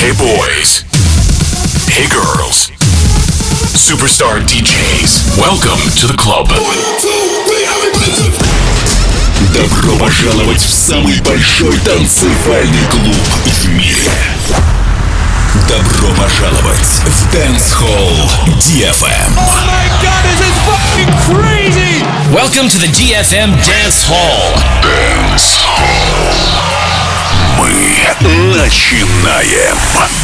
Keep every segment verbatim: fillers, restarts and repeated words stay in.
Hey boys. Hey girls. Superstar ди джейс. Welcome to the club. Добро пожаловать в самый большой танцевальный клуб в мире. Добро пожаловать в Dance Hall ди эф эм. Oh my god, this is fucking crazy! Welcome to the ди эф эм Dance Hall. Dance Hall. Мы начинаем.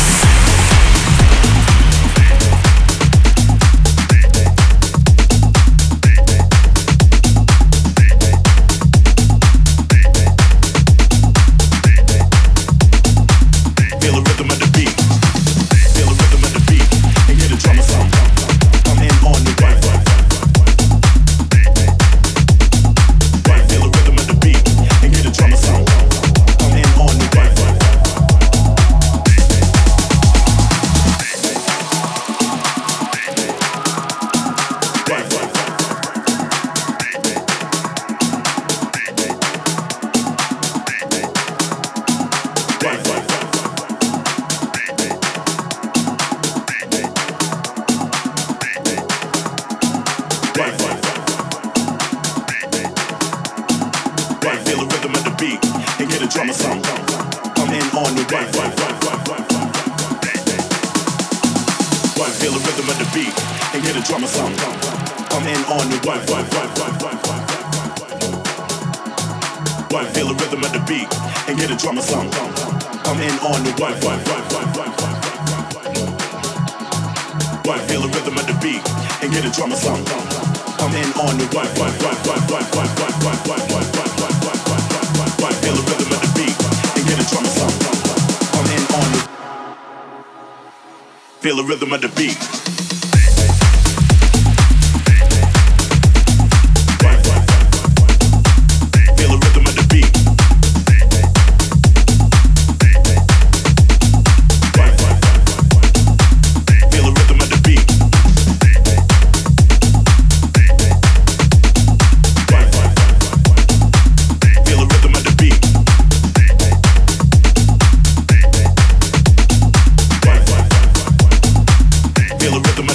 Feel the rhythm of the beat. Feel the rhythm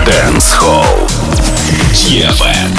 Dance Hall ди эф эм.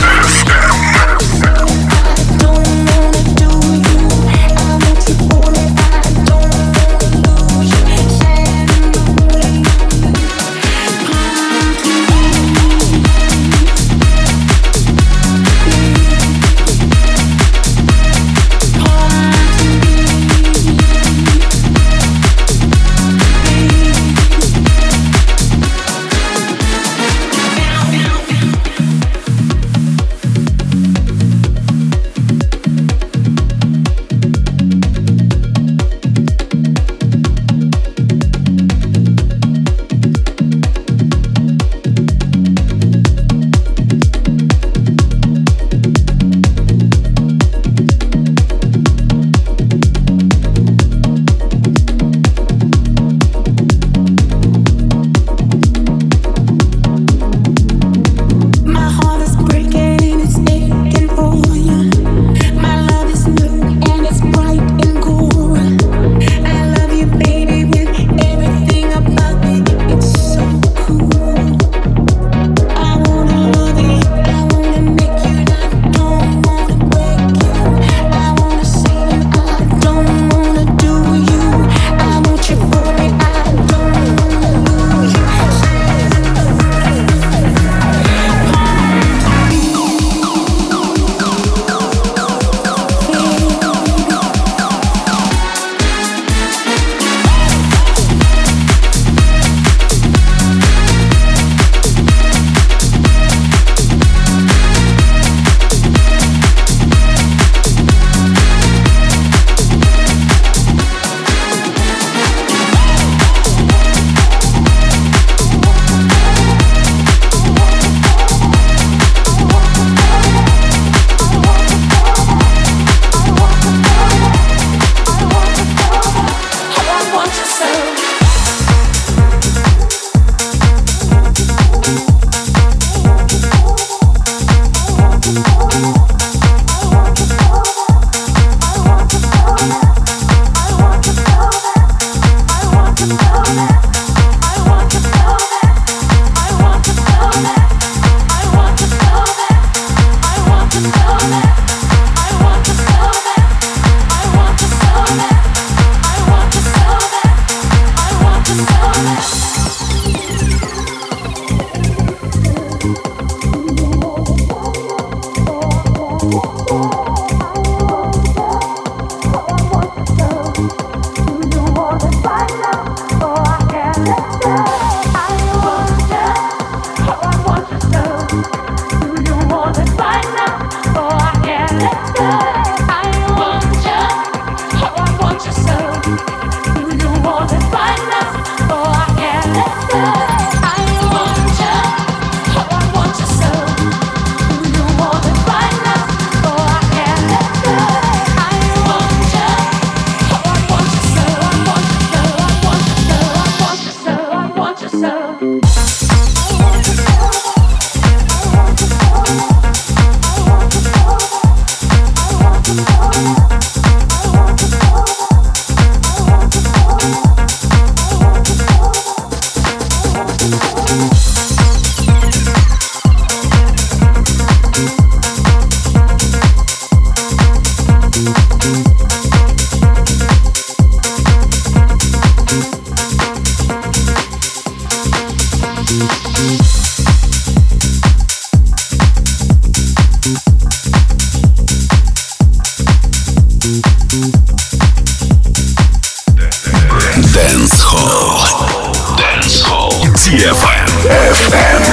Dance Hall. Dance Hall. ди эф эм. эф эм.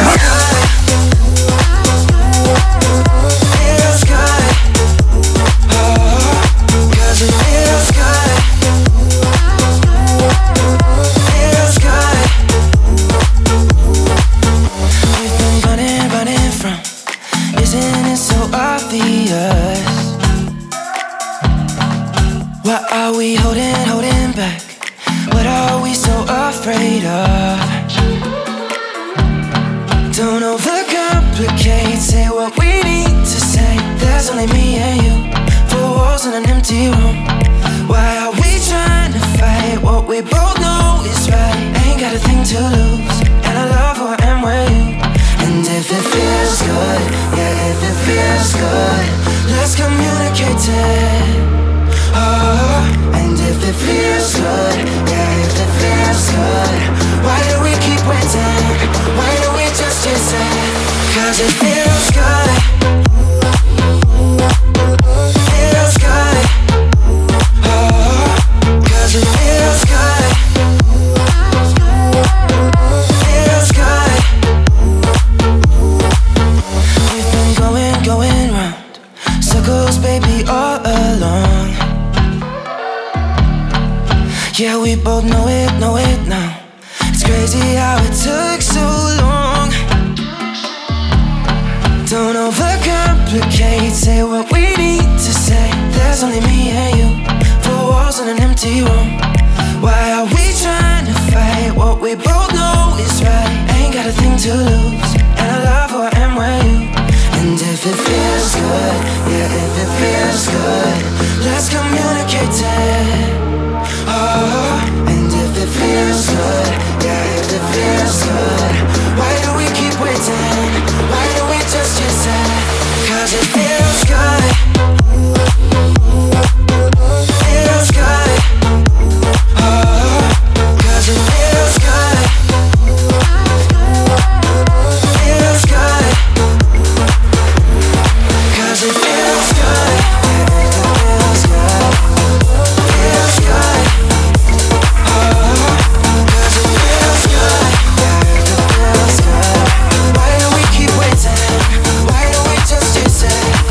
Why are we holding, holding back? What are we so afraid of? Don't overcomplicate, say what we need to say. There's only me and you, four walls in an empty room. Why are we trying to fight what we both know is right? Ain't got a thing to lose, and I love who I am with you. Cause it feels good. Feels good. Oh, cause it feels good. Feels good. We've been going, going round circles, baby, all along. Yeah, we both know it, know it now. It's crazy how it took so long. Don't overcomplicate, say what we need to say. There's only me and you, four walls in an empty room. Why are we trying to fight what we both know is right? Ain't got a thing to lose, and I love who I am with you. And if it feels good, yeah, if it feels good, let's communicate it. Oh, and if it feels good, yeah, if it feels good, why do we keep waiting? Why don't we just use it? Cause it feels good. Feels good. Oh, cause it feels good. Feels good. Cause it feels good. Feels good. Feels good. Why do we keep waiting? Why don't we just use it?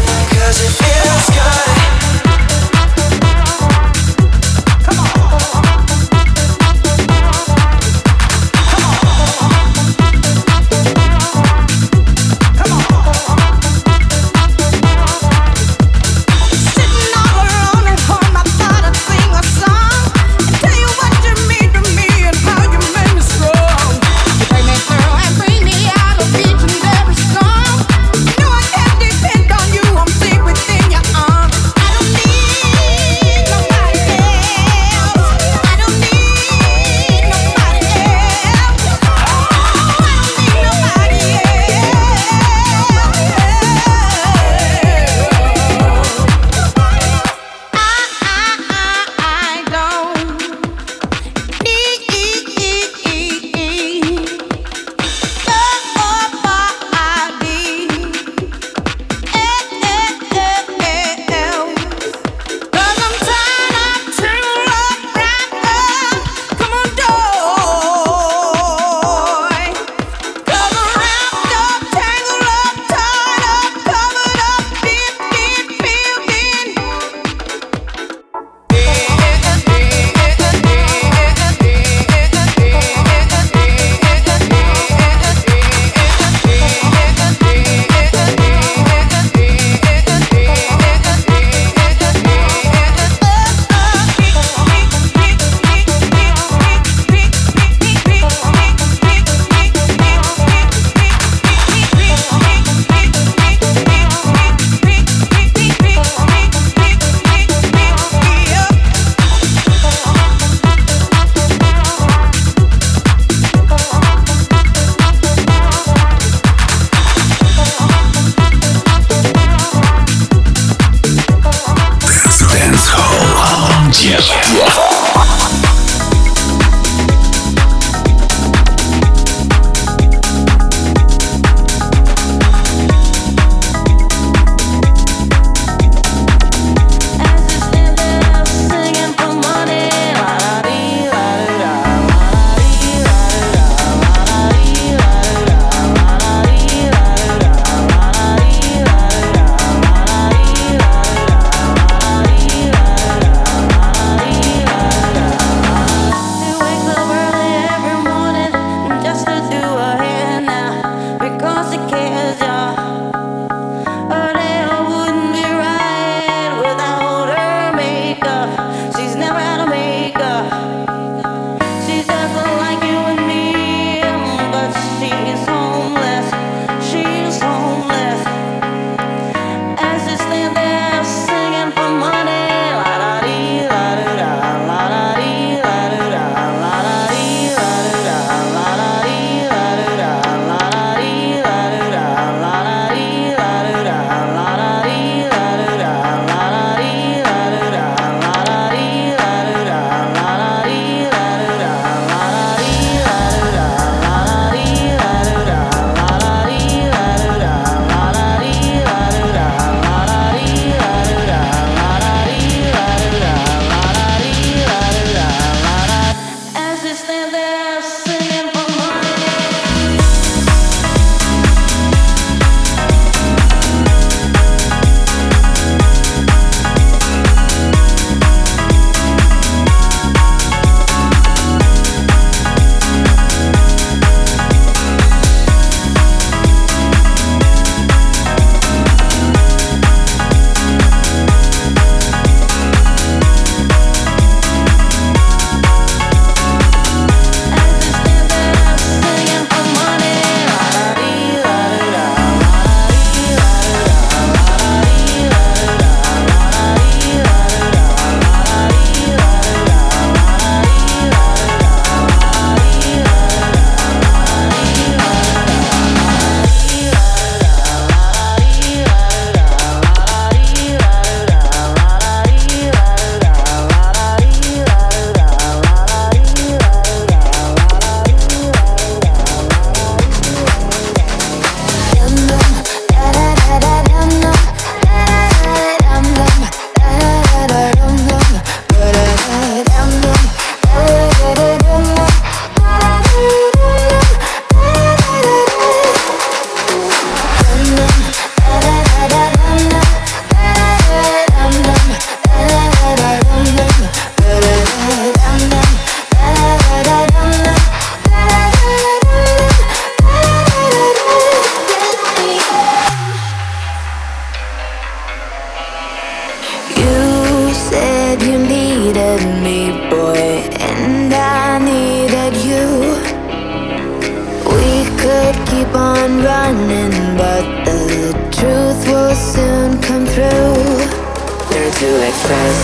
I'm running, but the truth will soon come through. Learn to express,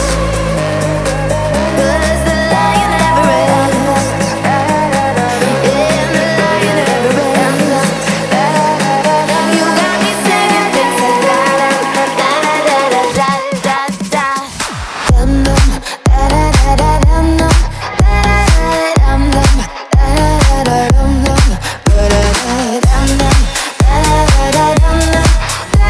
but the lion never rests. Yeah, the lion never rests. You got me singing things like da da da da da da da da. Dum dum da da da da dum dum da da dum dum da da da dum dum da da dum dum da da da dum dum da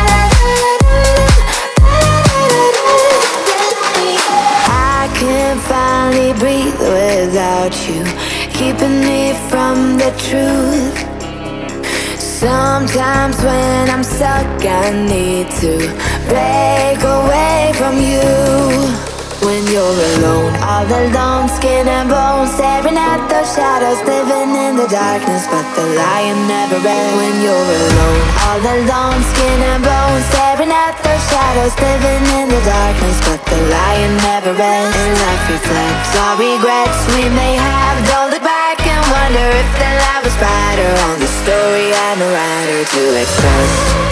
I can finally breathe without you, keeping me from the truth. Sometimes when I'm stuck, I need to break away from you. When you're alone, all alone, skin and bones, staring at those shadows, living in the darkness, but the lion never rests. When you're alone, all alone, skin and bones, staring at those shadows, living in the darkness, but the lion never rests. And life reflects our regrets we may have. Don't look back and wonder if the light was brighter on the story I'm a writer to express.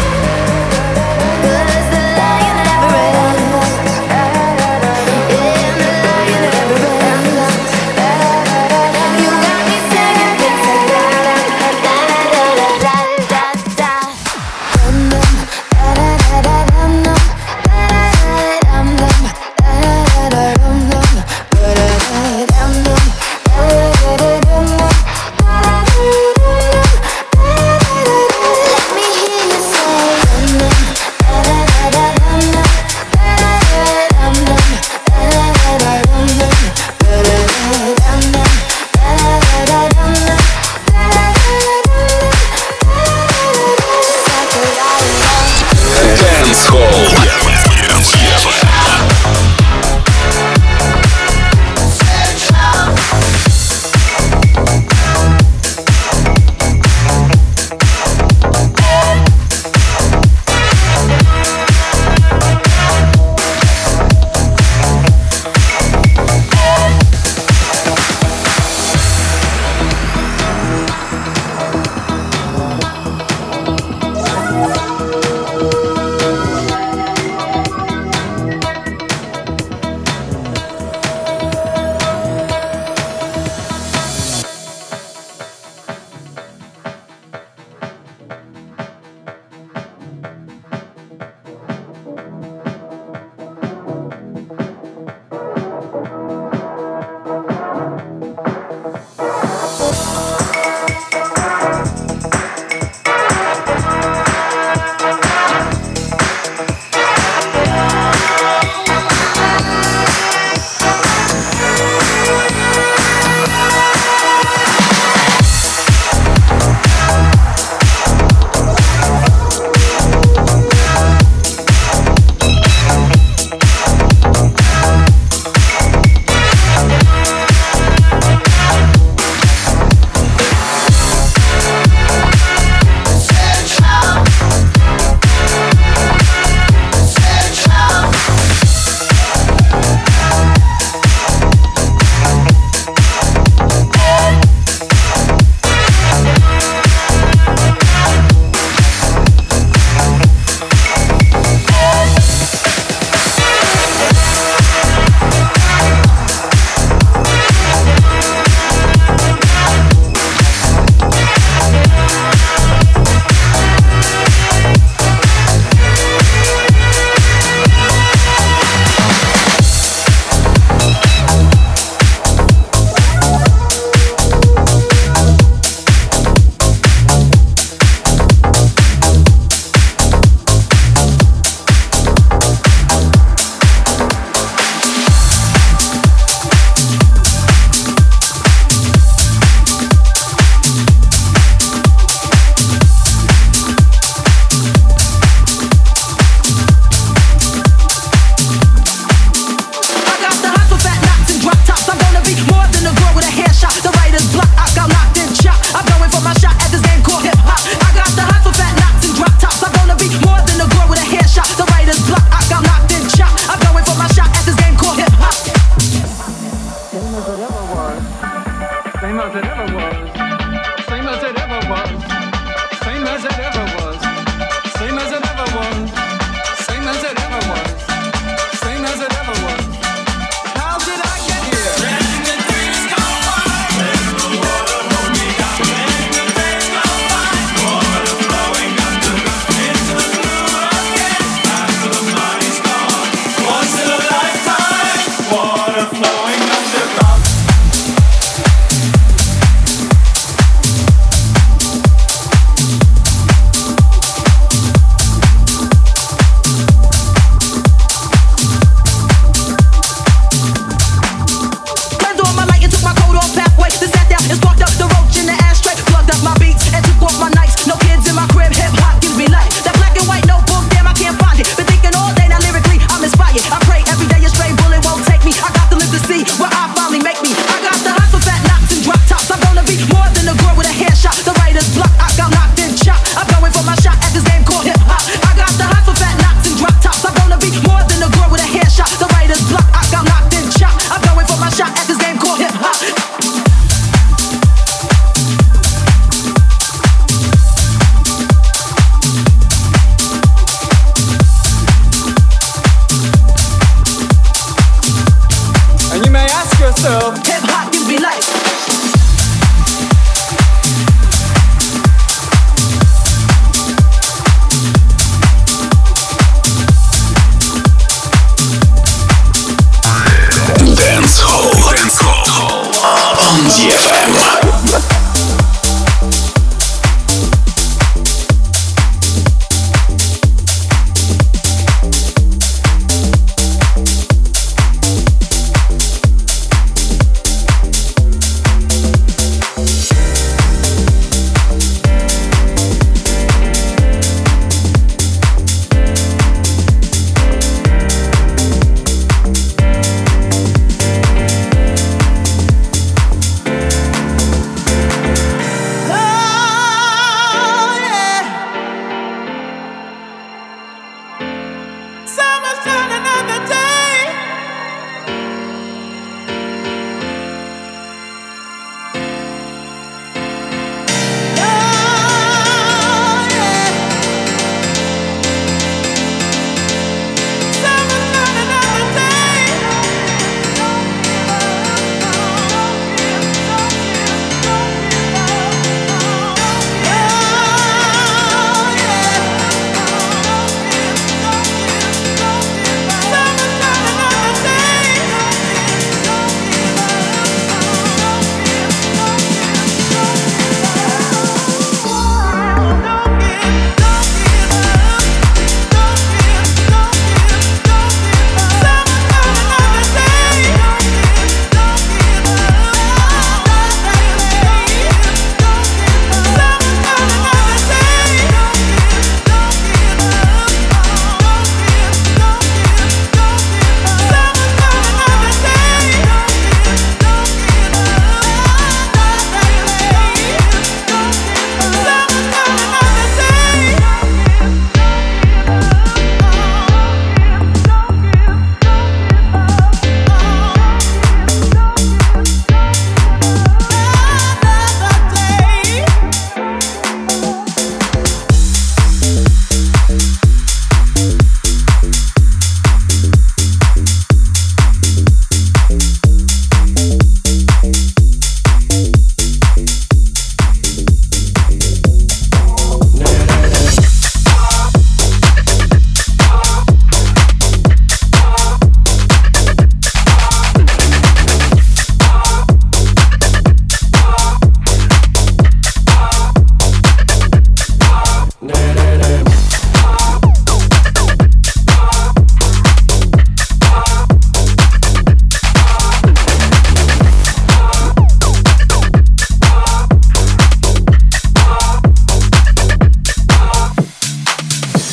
Cause the lion never rests. Let me hear you say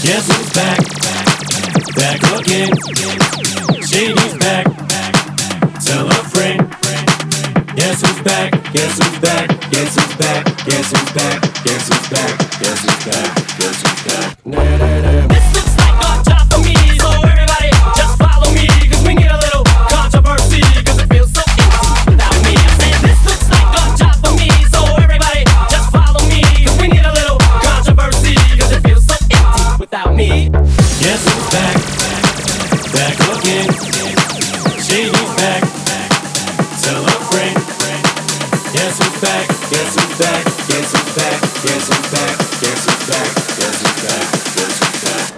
Guess who's back? Back again. Shady's back. Tell a friend. Guess who's back? Guess who's back? Guess who's back? Guess who's back? Guess who's back? Guess who's back? Guess who's back? Nah, nah, nah. This looks like a job for me, so everybody just follow me, cause we need a little controversy, cause it feels so empty without me. I said this looks like a job for me, so everybody just follow me, cause we need a little controversy, cause it feels so empty without me. Guess who's back? Back again. Shady's back. Tell a friend. Guess who's back? Guess who's back? Guess who's back? Guess who's back? Guess who's back? Guess who's back? Guess who's back?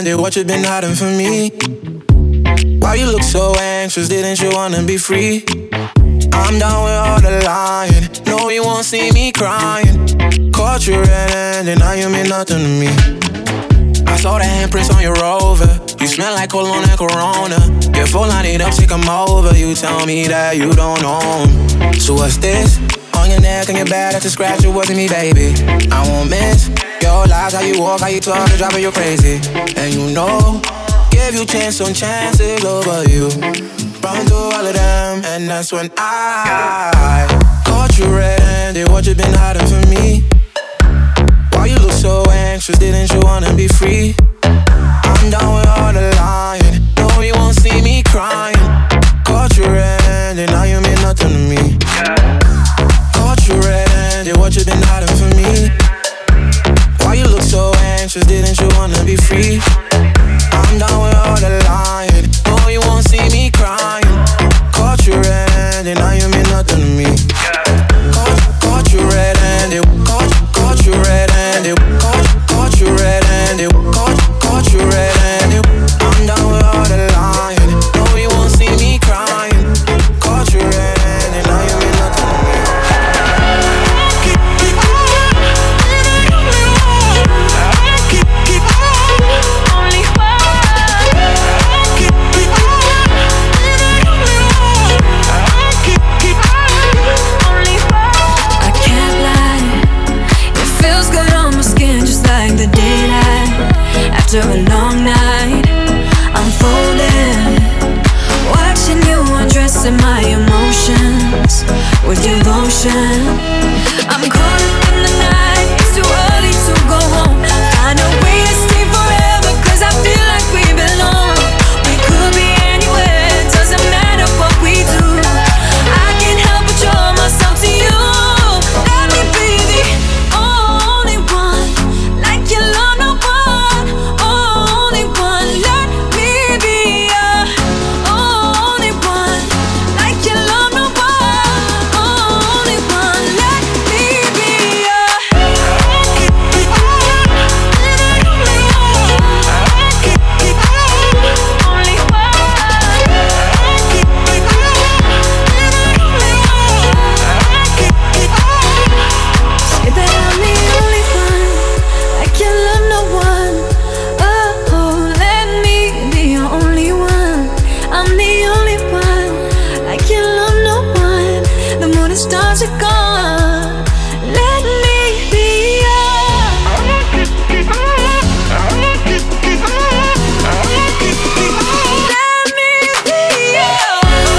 end it, what you been hiding from me? Why you look so anxious, didn't you wanna be free? I'm done with all the lying, no you won't see me crying. Caught you red-handed, now you mean nothing to me. I saw the handprints on your Rover, you smell like cologne and Corona. Get full lined up, take 'em over, you tell me that you don't know 'em. So what's this? On your neck and your back, that's a scratch, it wasn't me, baby. I won't miss your lies, how you walk, how you talk, it's driving you crazy. And you know, give you chance on chances over you. Run through all of them, and that's when I caught you red-handed, what you been hiding from me? Why you look so anxious, didn't you wanna be free? I'm done with all the lying, no you won't see me crying. Caught you red-handed, now you mean nothing to me. Caught you red-handed, what you been hiding from me? Why you look so anxious, didn't you wanna be free? I'm done with all the lying, no you won't see me crying. Caught you red-handed, now you mean nothing to me. Caught, caught you red-handed, caught, caught you red-handed, caught, caught you red-handed, caught, caught you red-handed. I'm done with all the lying, no you won't see me crying. Caught you red-handed, now you mean nothing to me. Keep, keep, keep, keep, only the daylight after a long night, I'm folding, watching you undressing my emotions with your lotion. I'm caught up in the night, it's too early to go home. Find a way to stay forever, cause I feel like we belong. We could be anywhere, it doesn't matter what we do. I can't help but draw myself to you. Let me be the only one, like you love no one. Only one, let me be your only one, like you love no one. Only one, let me be your only say that I'm the only one, like you love no one. Oh, let me be your only one. I'm the only one, like you love no one. The moon and stars are gone. Let me be your. Let me be your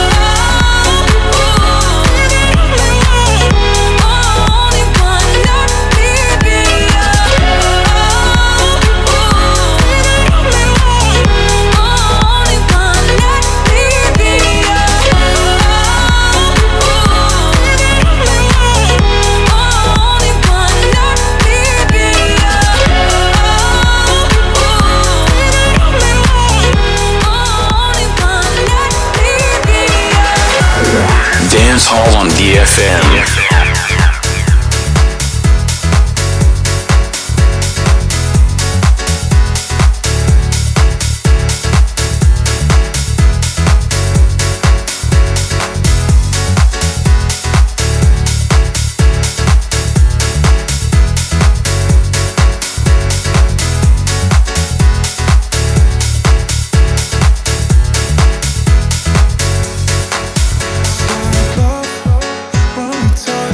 only one. Let me be your only one. Let me be your only one. Let me be your. Dance Hall on D F M. When we talk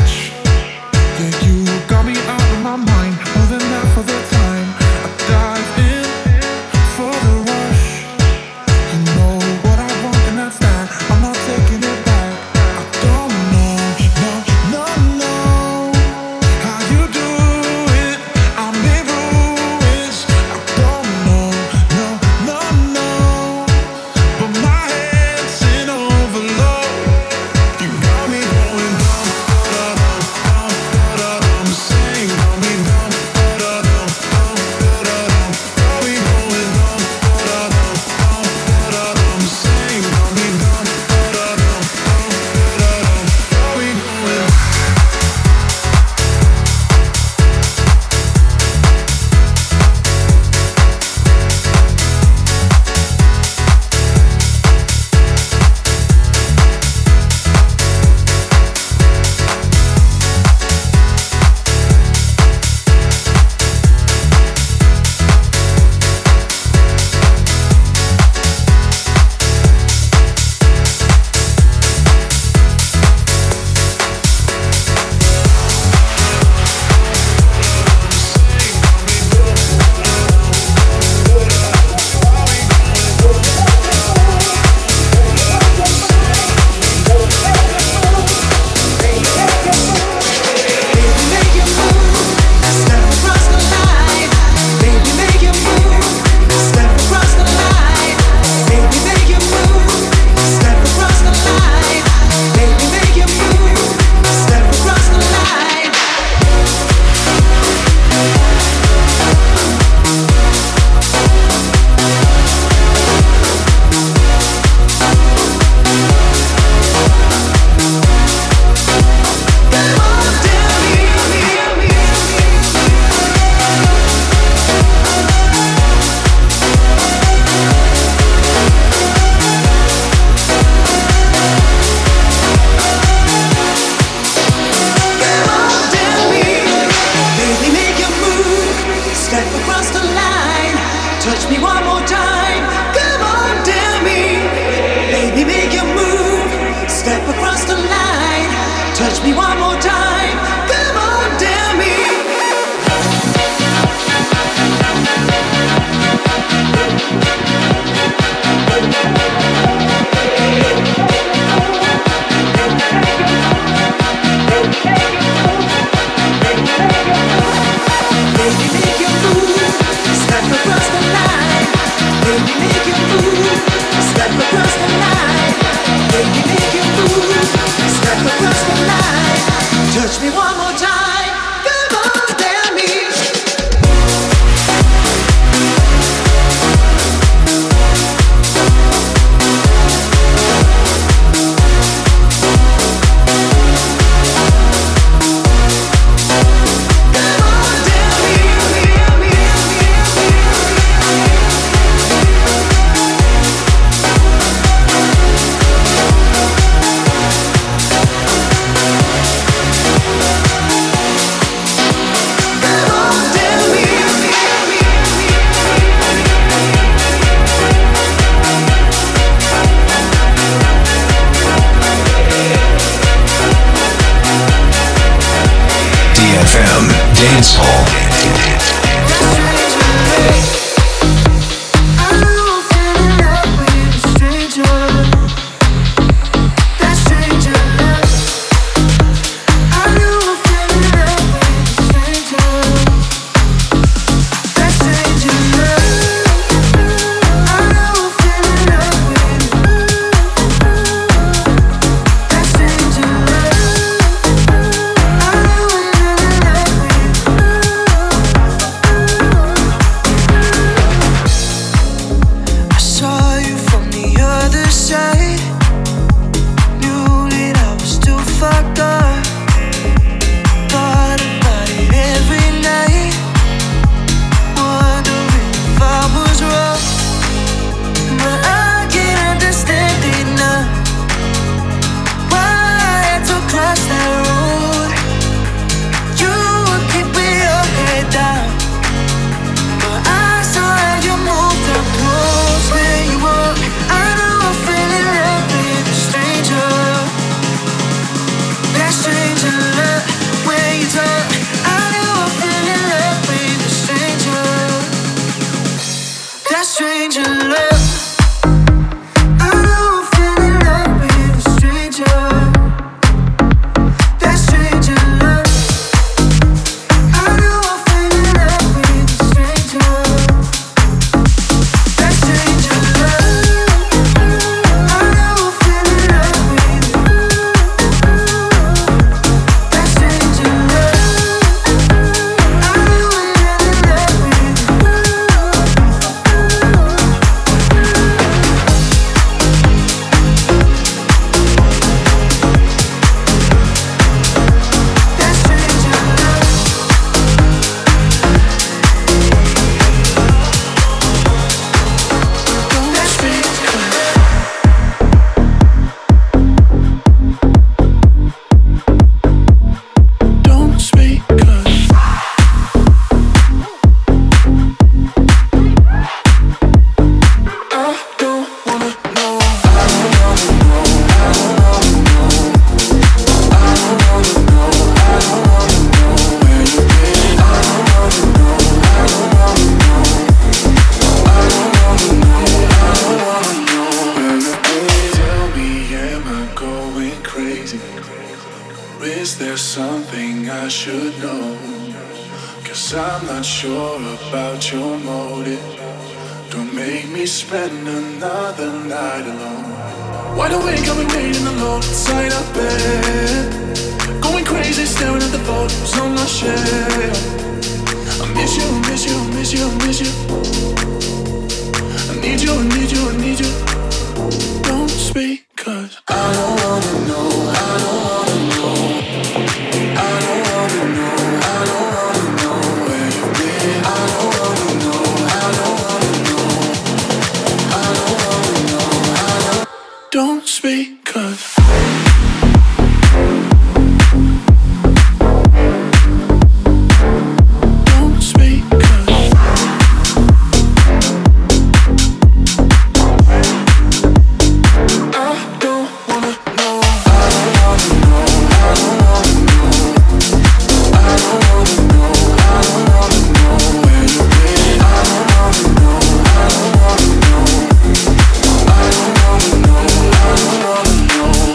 know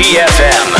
G F M.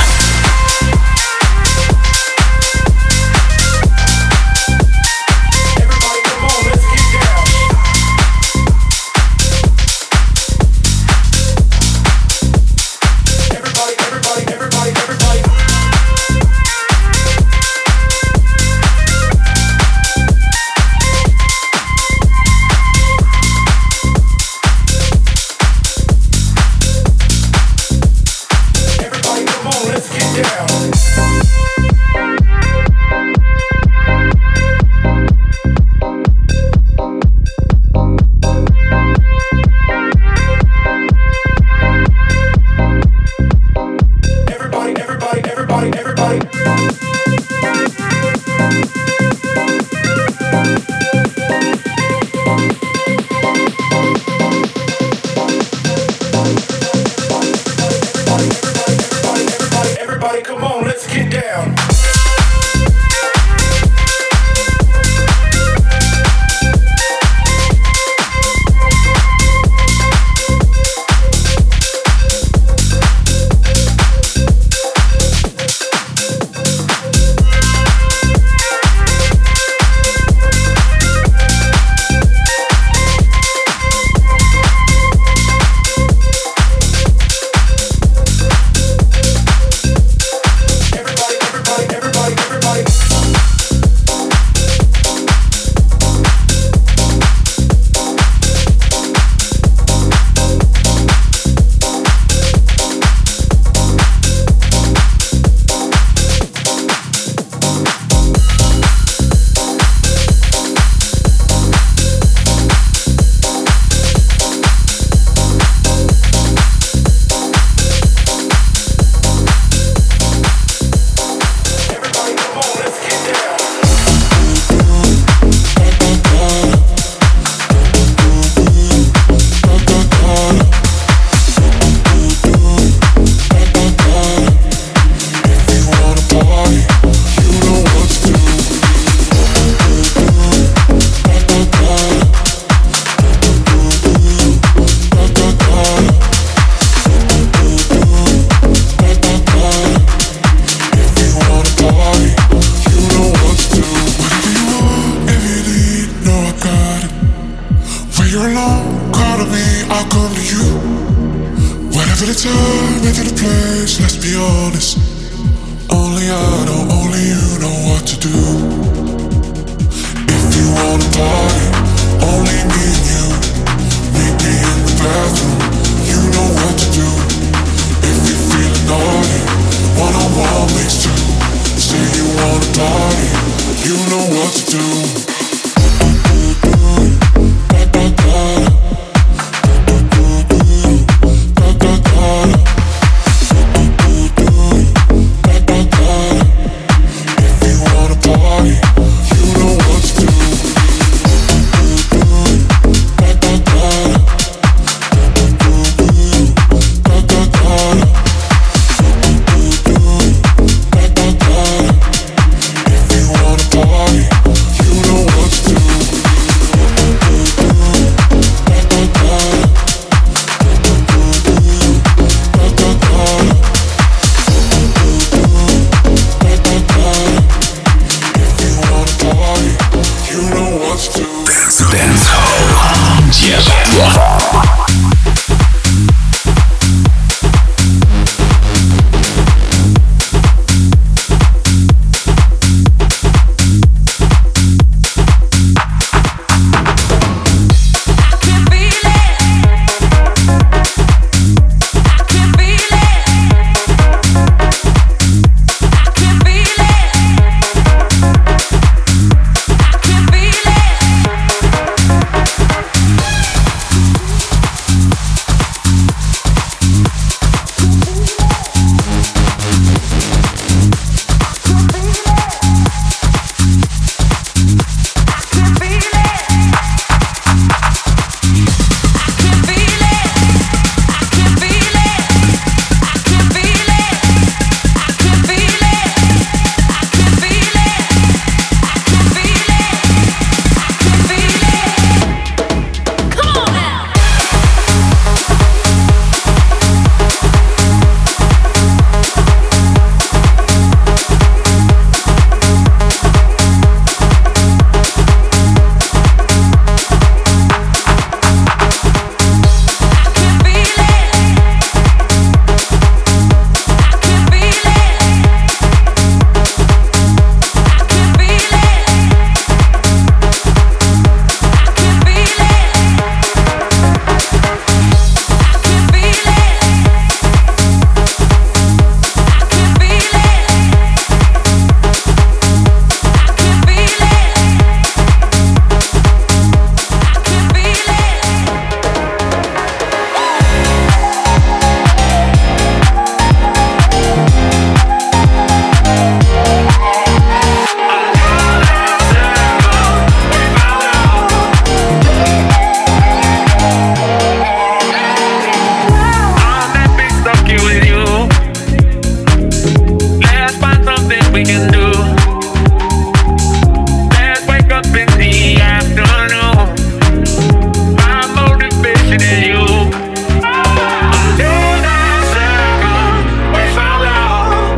needed you. Until that second we found love.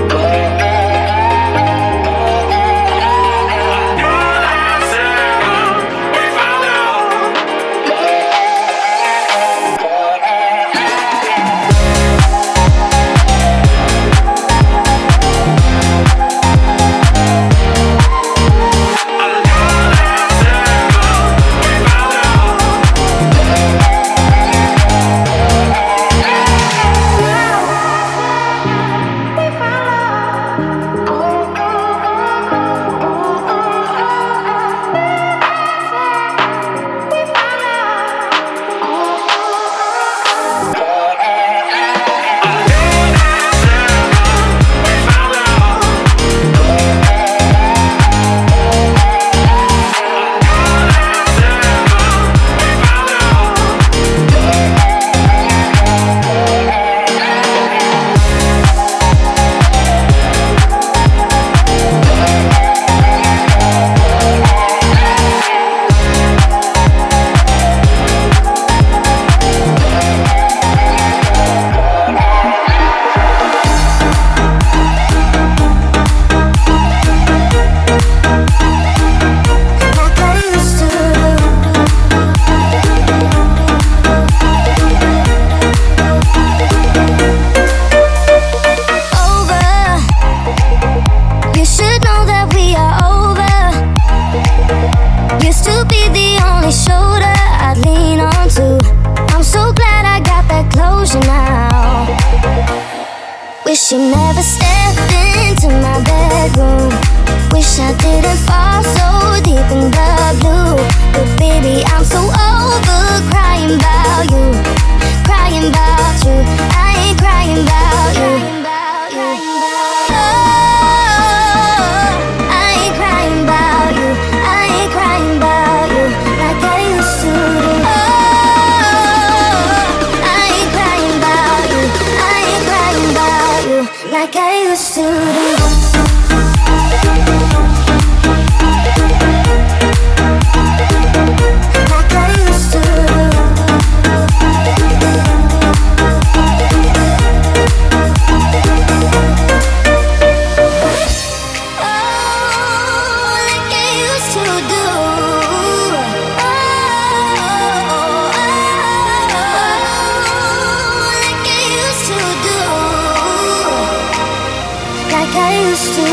Until that second we found love. Wish you never stepped into my bedroom. Wish I didn't fall so deep in the blue. But baby, I'm so over crying about you. Crying about you. I ain't crying about you. Oh, I ain't crying about you. I ain't crying about you like I used to do. Oh, I ain't crying about you. I ain't crying about you like I used to do. Like I used to do.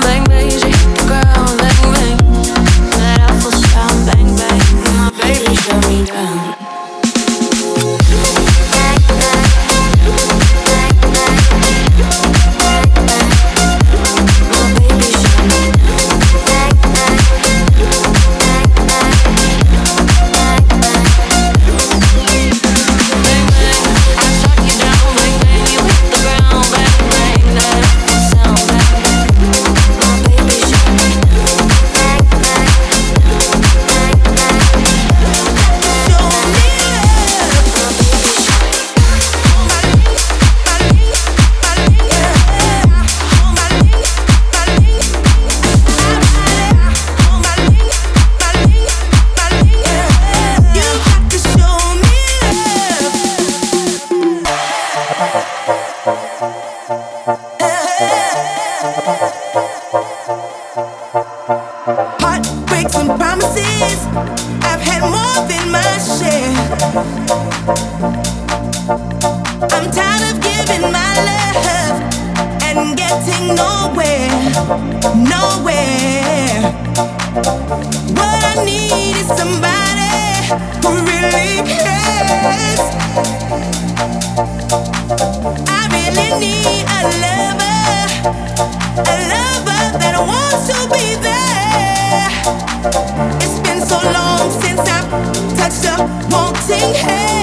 Baby, show really cares. I really need a lover, a lover that wants to be there. It's been so long since I've touched a wanting hand.